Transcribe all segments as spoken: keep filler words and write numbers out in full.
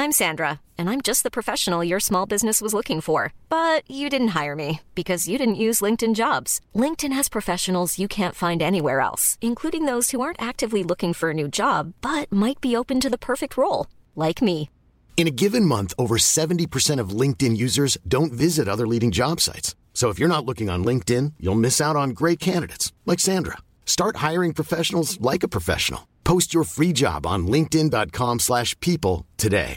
I'm Sandra, and I'm just the professional your small business was looking for. But you didn't hire me because you didn't use LinkedIn Jobs. LinkedIn has professionals you can't find anywhere else, including those who aren't actively looking for a new job, but might be open to the perfect role, like me. In a given month, over seventy percent of LinkedIn users don't visit other leading job sites. So if you're not looking on LinkedIn, you'll miss out on great candidates like Sandra. Start hiring professionals like a professional. Post your free job on linkedin.com slash people today.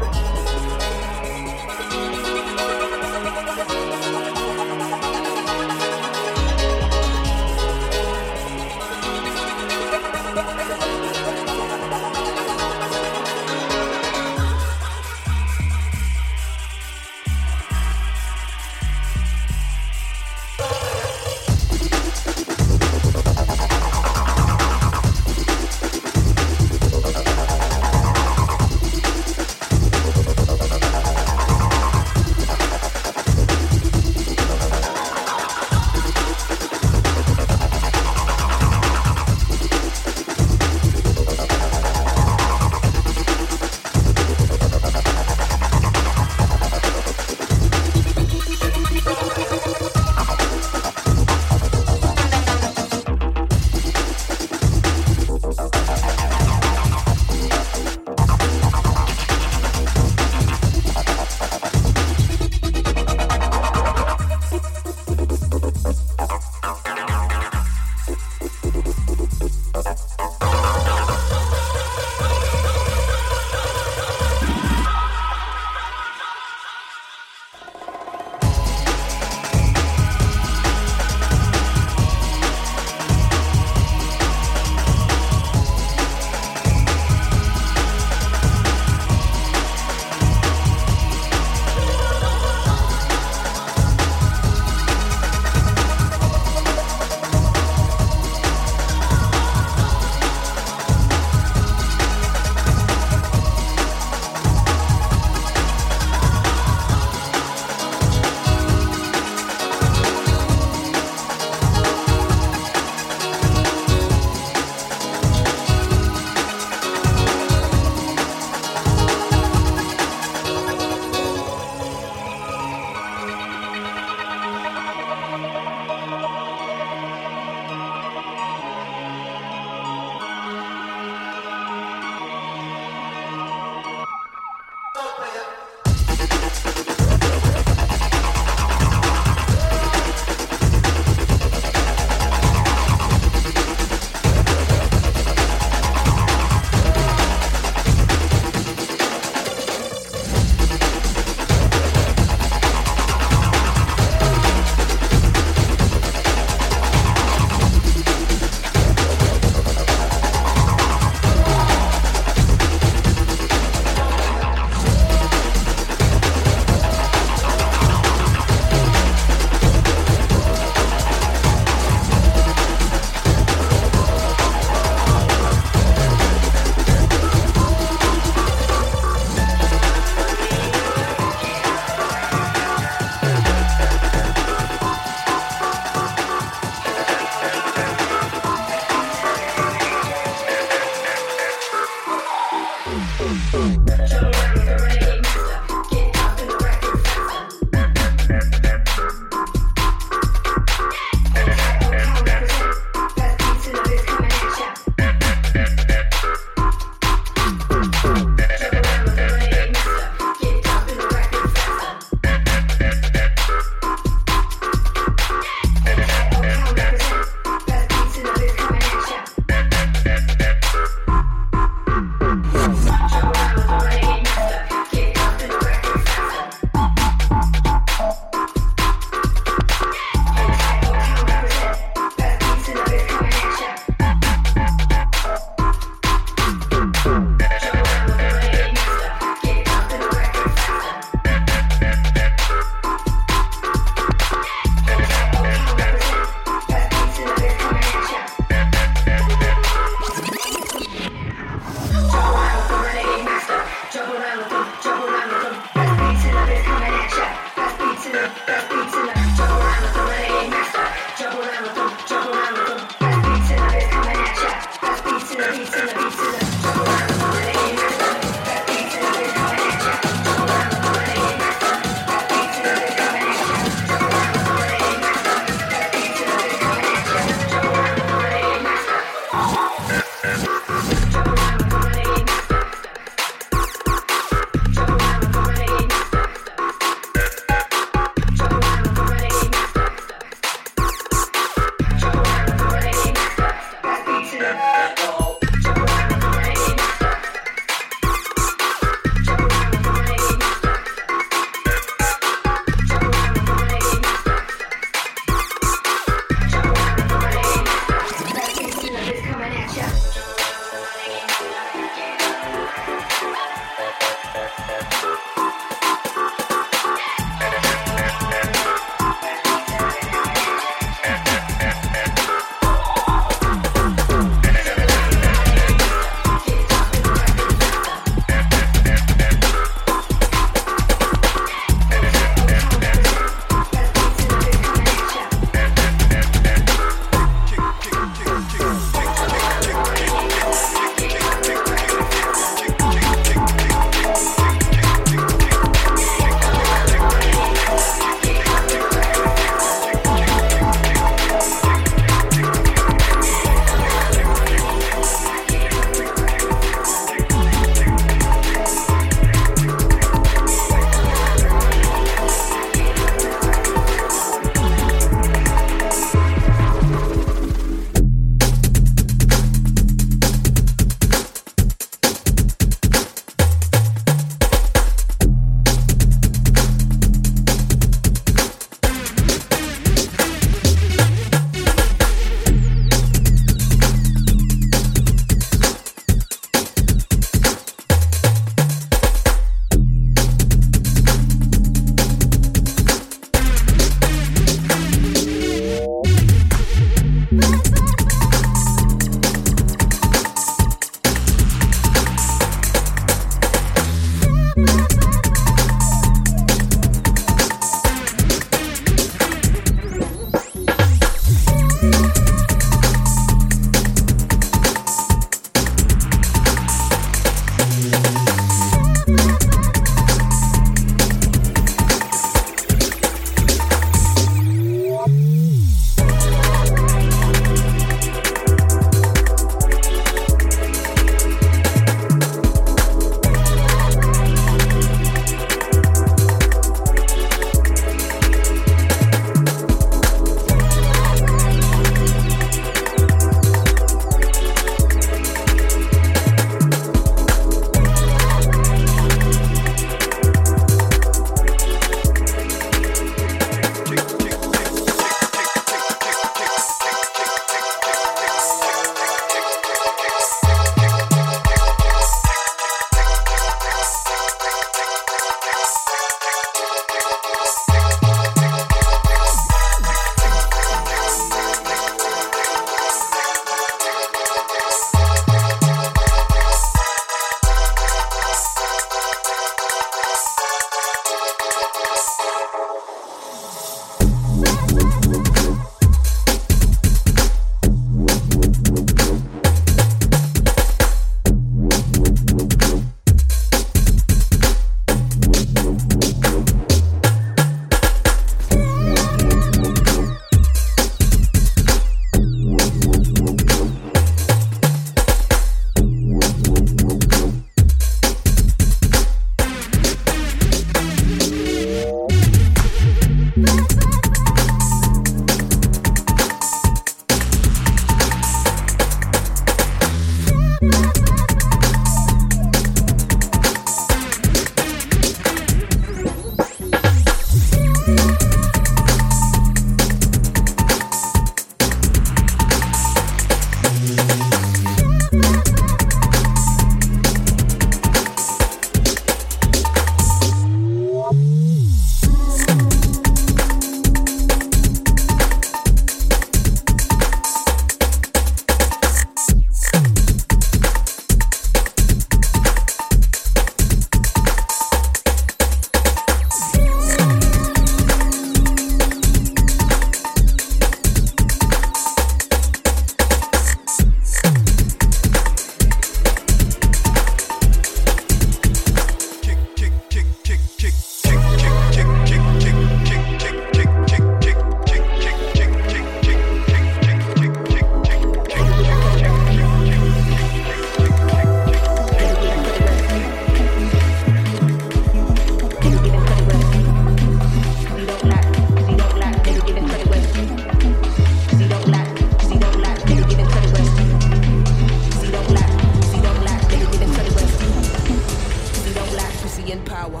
power.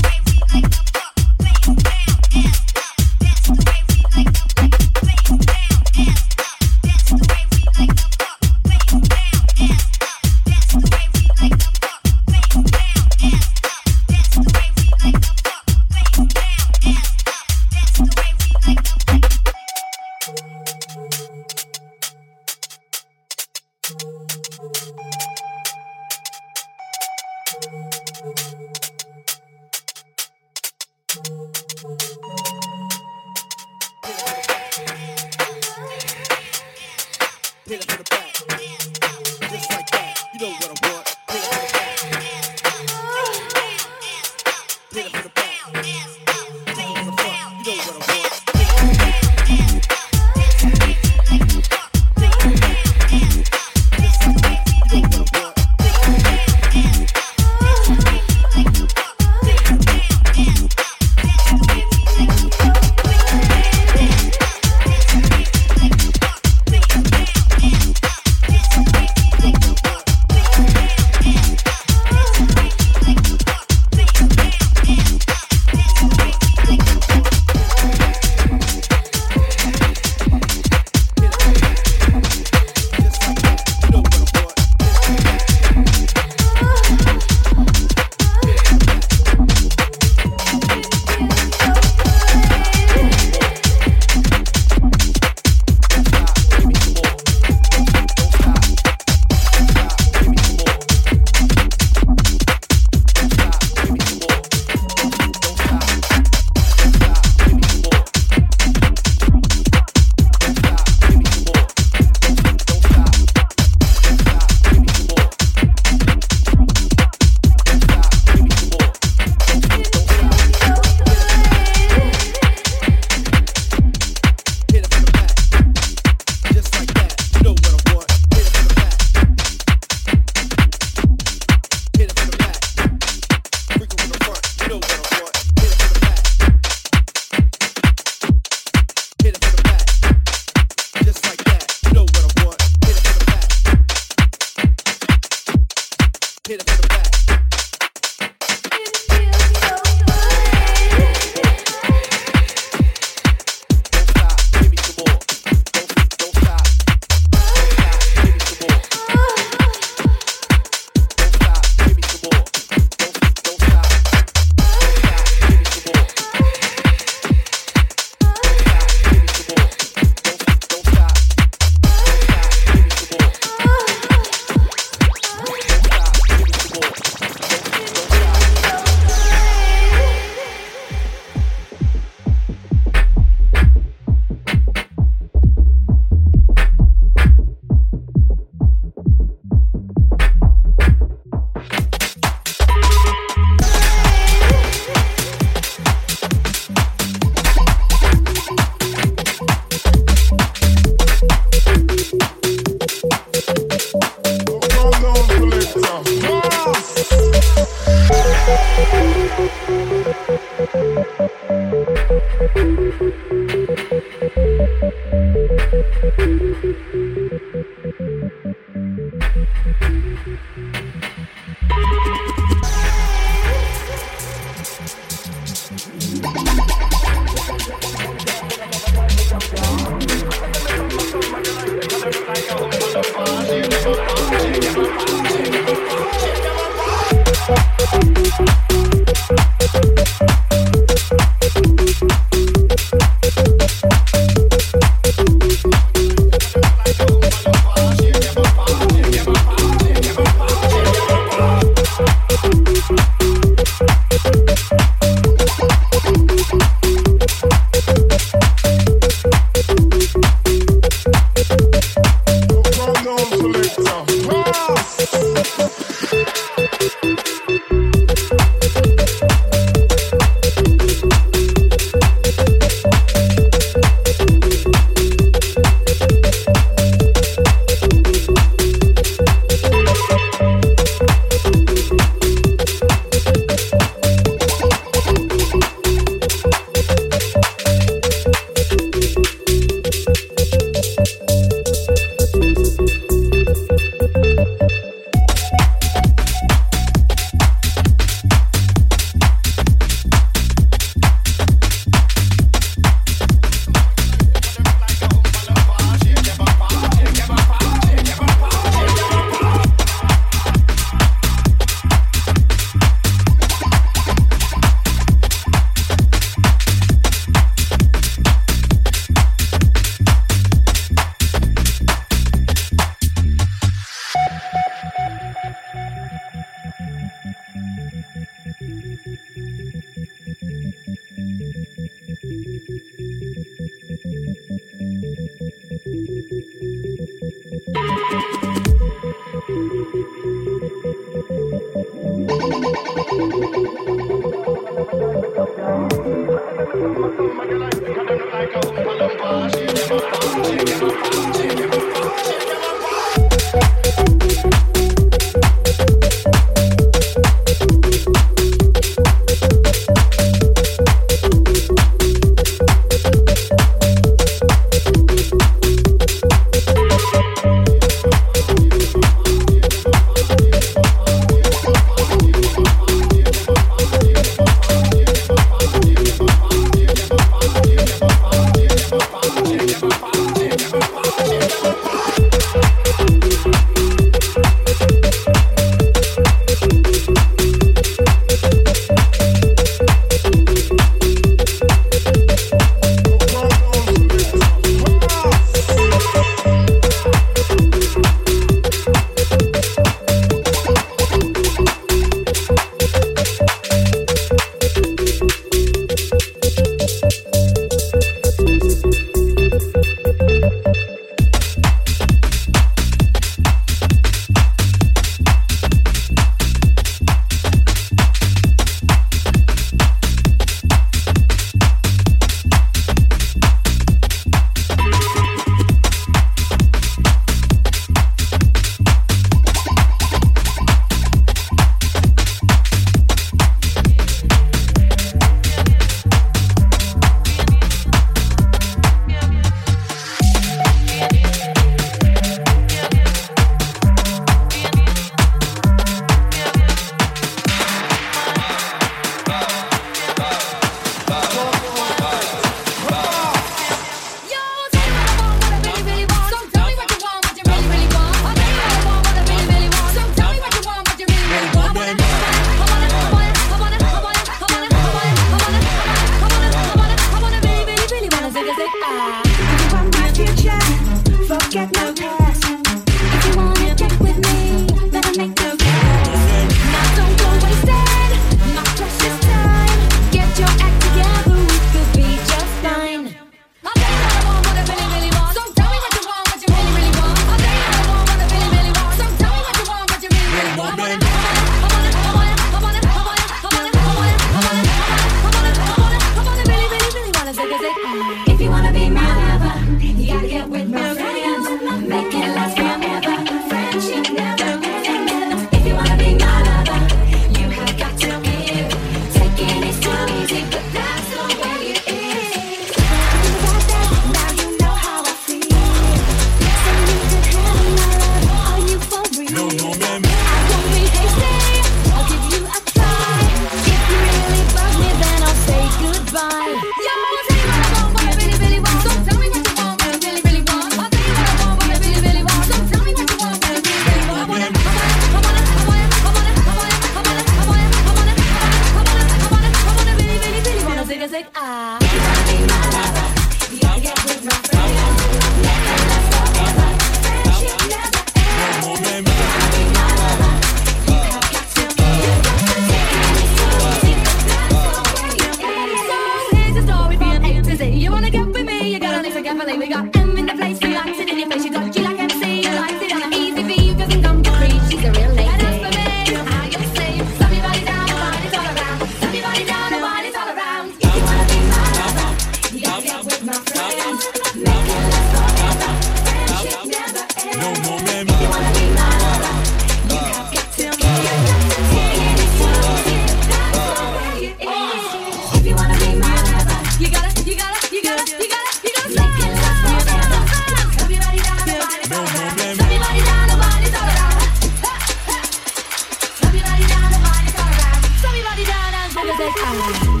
World Audio.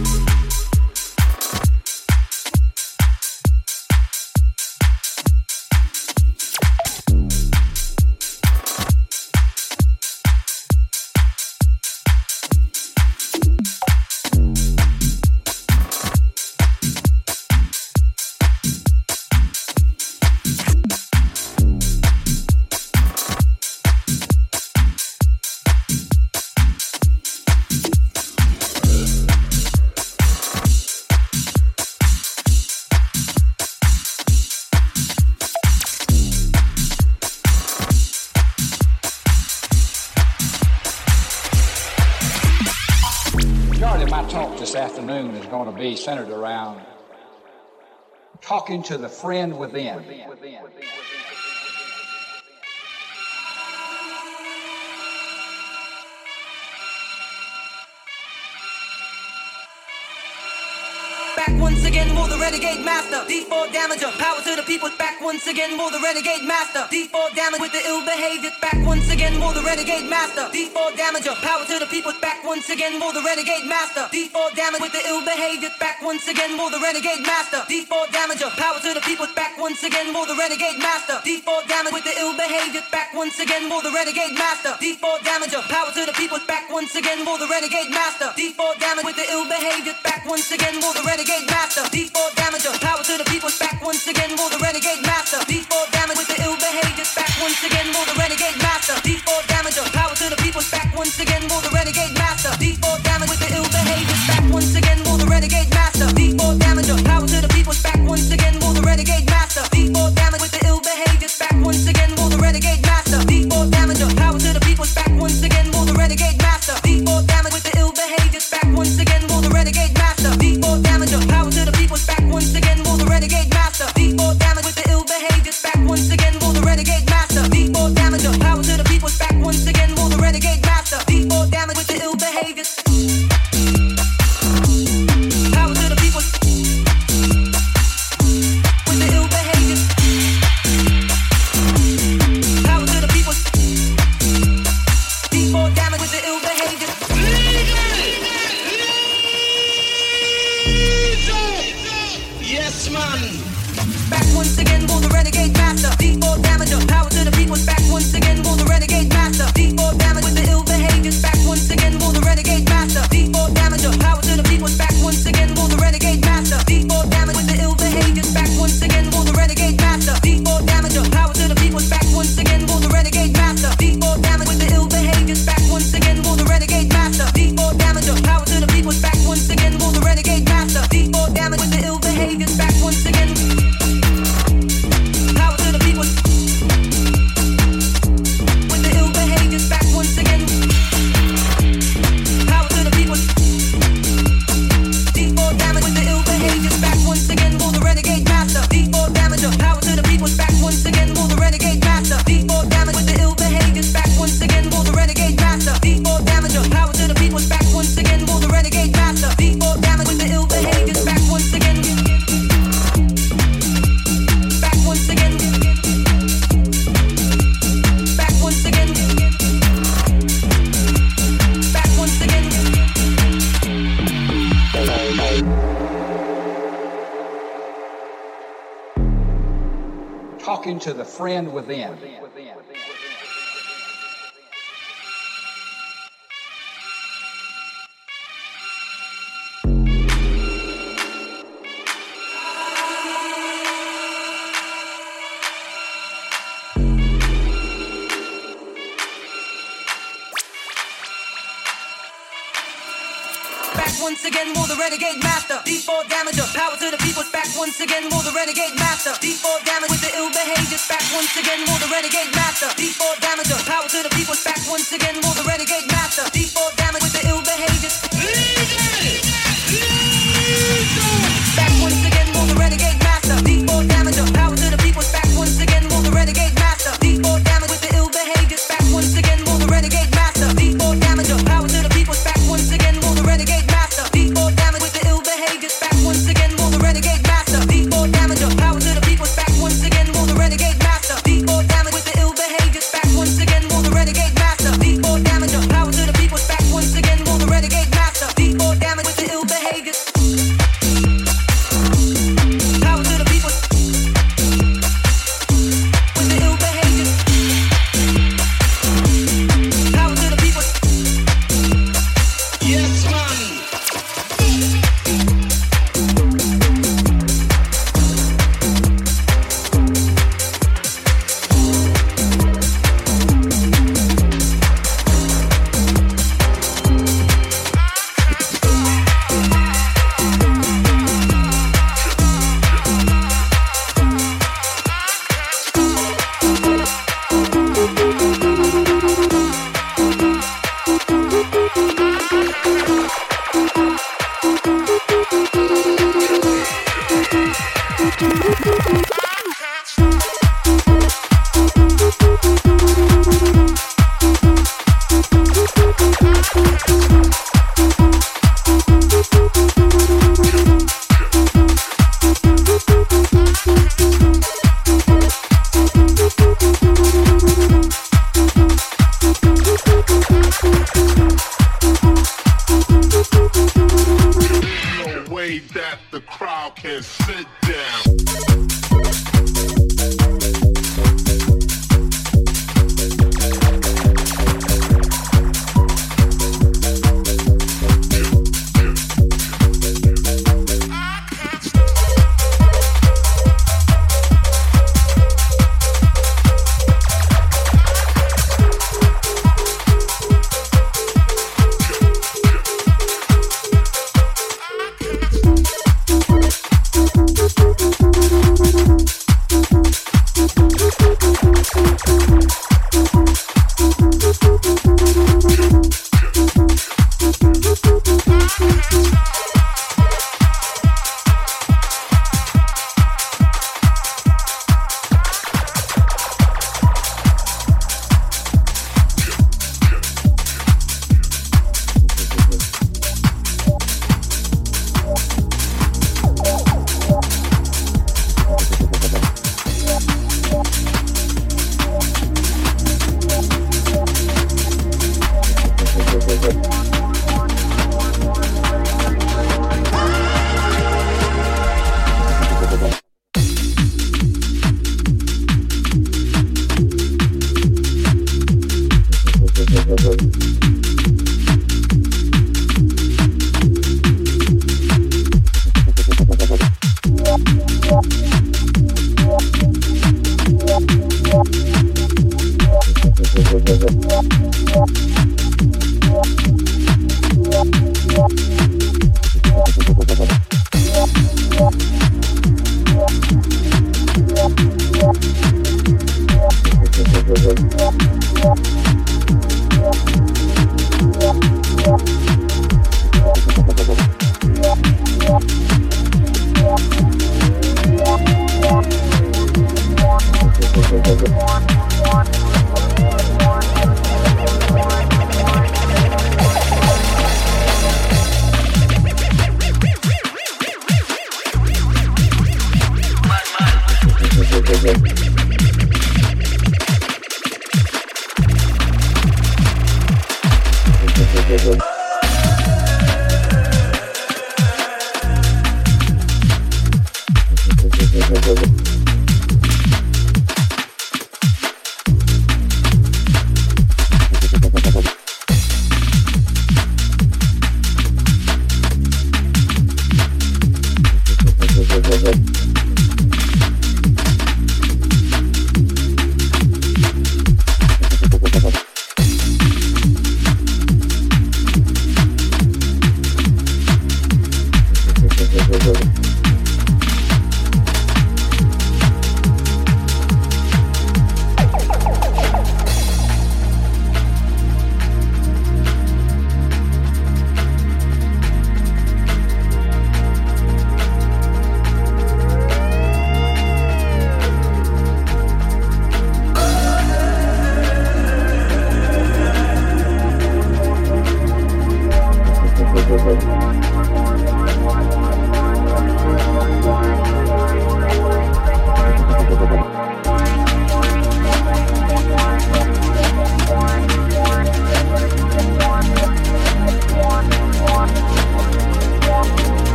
This afternoon is going to be centered around talking to the friend within. Back once again, more the renegade master. D four damager, power to the people. Back once again, more the renegade master. D four damage with the ill behavior. Back once again, more the renegade master. D four damager, power to the people. Back once again, more the renegade master. D four damage with the ill behavior. Back once again, more the renegade master. D four damager, power to the people. Back once again, more the renegade master. D four damage with the ill behavior. Back once again, more the renegade master. D four damager, power to the people. Back once again, more the renegade master. D four damage with the ill behavior. Back once again, more the renegade master. D four damager, power to the people. Back once again, more the renegade master. D four damage with the ill behavior. Back once again, more the renegade master. D four damager, power to the people. Back once again, more the renegade master. D four damage with the ill behavior. Back once again, more the renegade master. D four damager, power to the people. Back once again, more the renegade master. D four damage with the ill behavior. Back once again, more the renegade master. D four damager, power to the people. Back once again, more the renegade master. D four damage with the ill behavior. Back once again, more the renegade master. D four damager, power to the people. Back once again, more the renegade master. D four damage with the ill behavior. Back once again, more the renegade master. D four damager, power to the people. Back once again, more the renegade master. D four damage with the ill behavior. Power to the people. With the ill behavior. Power to the people. D four damage with the ill behavior. Yes, man. Back once again, more the renegade master. D four damager, power to the people. Back once again, more the renegade master. D four damage with the ill behavior. Back once again, more the renegade master. D four damager, power to the people. Back once again, more the renegade master. D four damage with the ill behavior. Back once again, more the renegade master. D four damager, power to the people. Back once again, more the renegade master. D four damage with the ill behavior. Back once again, more the renegade master. D four damager, power to the people. Back once again, more the renegade master. D four damage with the ill behavior. Back once again. Power to the people. With the ill behavior. Back once again. Power to the people. D four damage with the ill behavior. Back once again, more the renegade master. D four damager. Power to the people. Back once again, more the renegade master. D four damage with the ill behavior. Back once again, more the renegade master. D four damager. Power to the people. Back once again, more the renegade master. D four damage with the ill behavior. Back once again. Back once again. Back once again. Back once again. Talking to the friend within. Back once again, more the renegade master. D four damager, power to the people. Back once again, more the renegade master. D four damage with the ill behavior. Back once again, more the renegade master. D four damager, power to the people. Back once again, more the renegade master. D four damage with the ill behavior. Back once again, more the renegade master. D four damager, power to the people. Back once again, more the renegade master. D four damage with the ill behavior. Back once again, more the renegade master. D four damager, power to the people. Back once again, more the renegade master. D four damage with the ill behavior. Back once again, more the renegade master. D four damager, power to the people. Back once again, more the renegade master. D four damage with the ill behavior. Back once again, more the renegade master. D four damager, power to the people. Back once again. and sit down.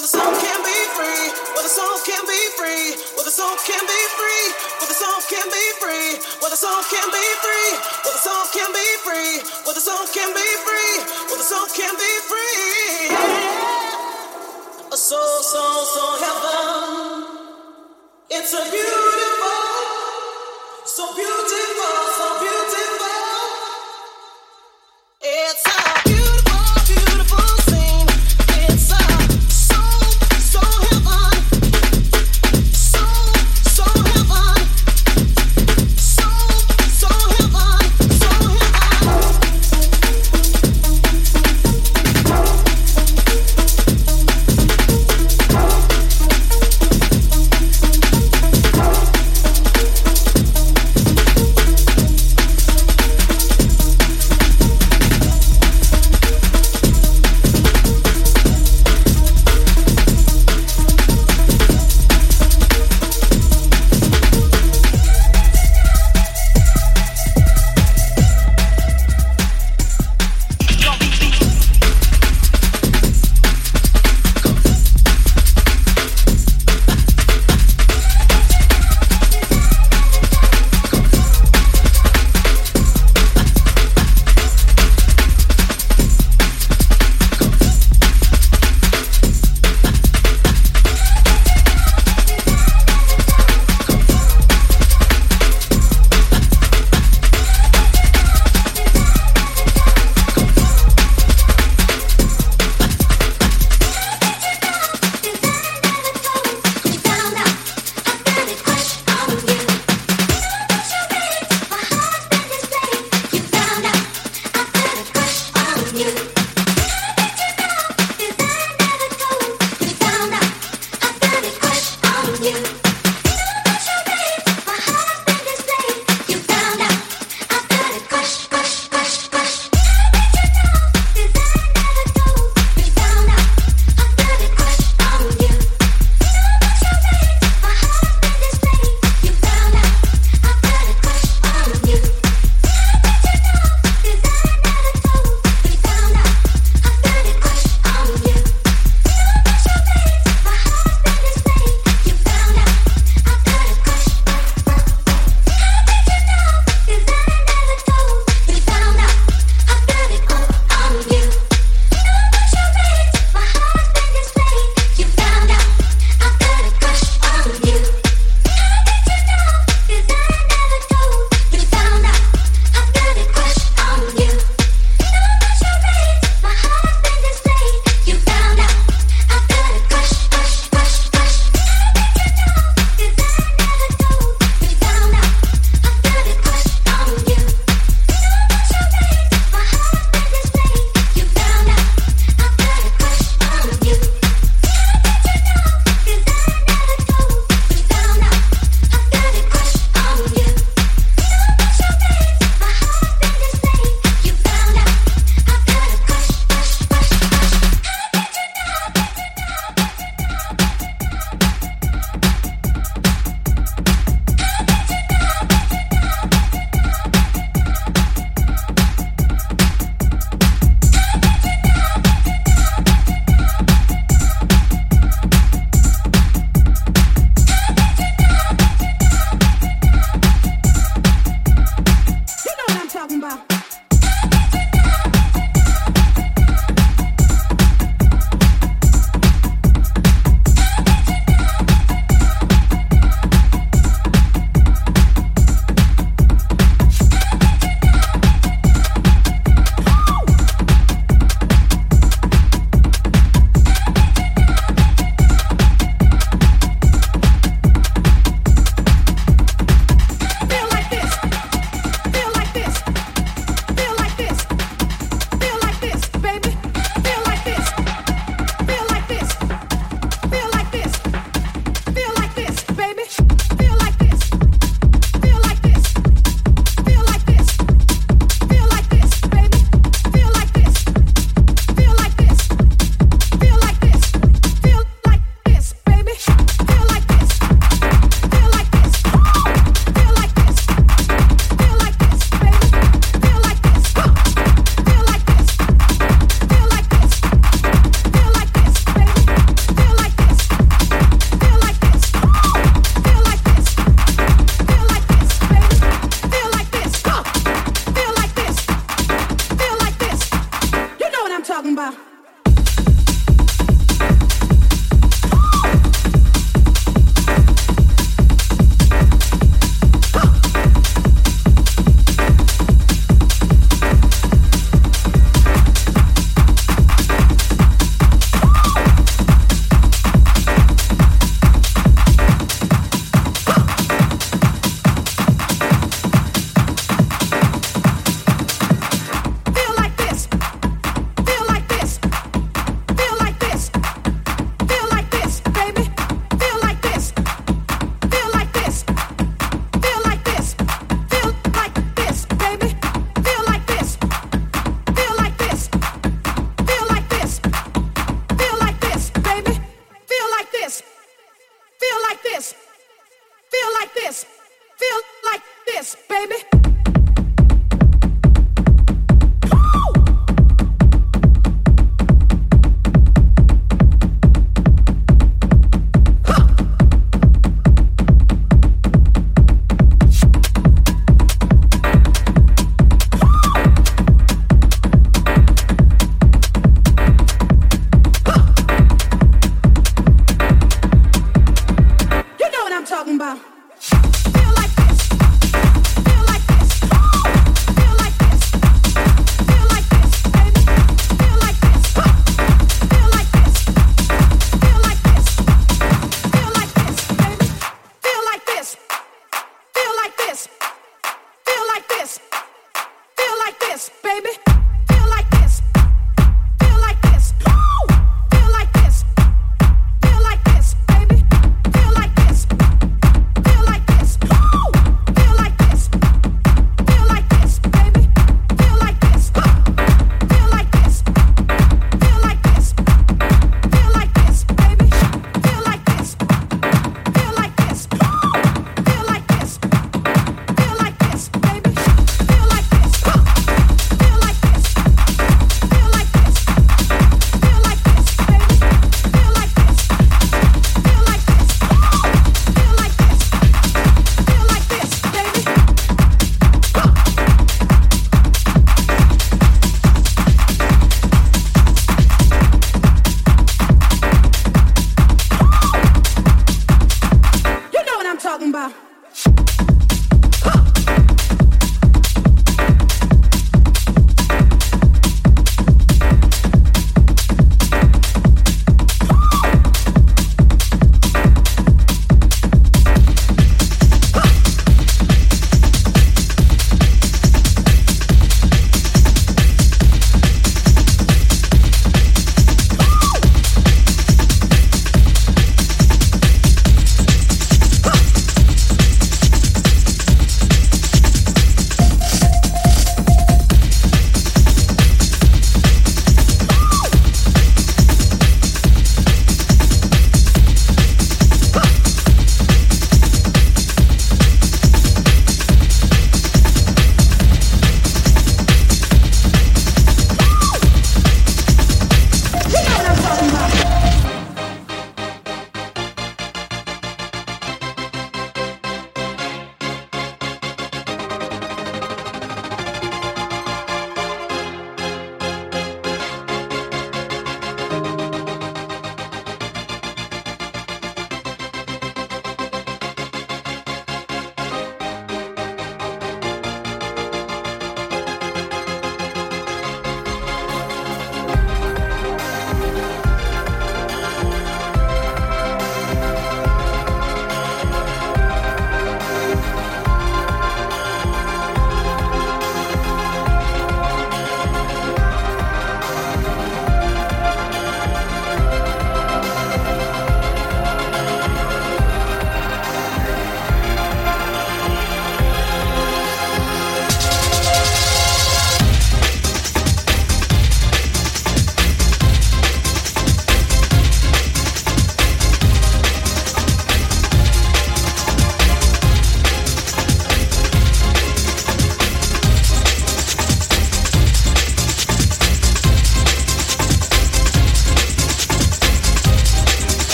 where the soul can be free, where the soul can be free, where the soul can be free, where the soul can be free, where the soul can be free, where the soul can be free, where the soul can be free, where the soul can be free. A soul, soul, soul heaven. It's a beautiful, so beautiful, so beautiful. It's a beautiful, beautiful scene. It's a soul, soul heaven. Soul, soul heaven. Soul, soul heaven. Soul heaven.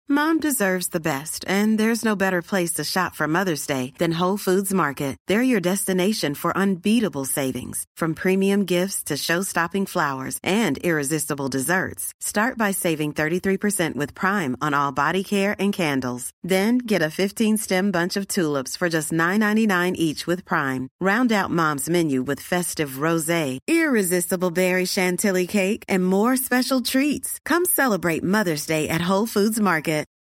Mom deserves the best, and there's no better place to shop for Mother's Day than Whole Foods Market. They're your destination for unbeatable savings, from premium gifts to show-stopping flowers and irresistible desserts. Start by saving thirty-three percent with Prime on all body care and candles. Then get a fifteen-stem bunch of tulips for just nine ninety-nine each with Prime. Round out Mom's menu with festive rosé, irresistible berry chantilly cake, and more special treats. Come celebrate Mother's Day at Whole Foods Market.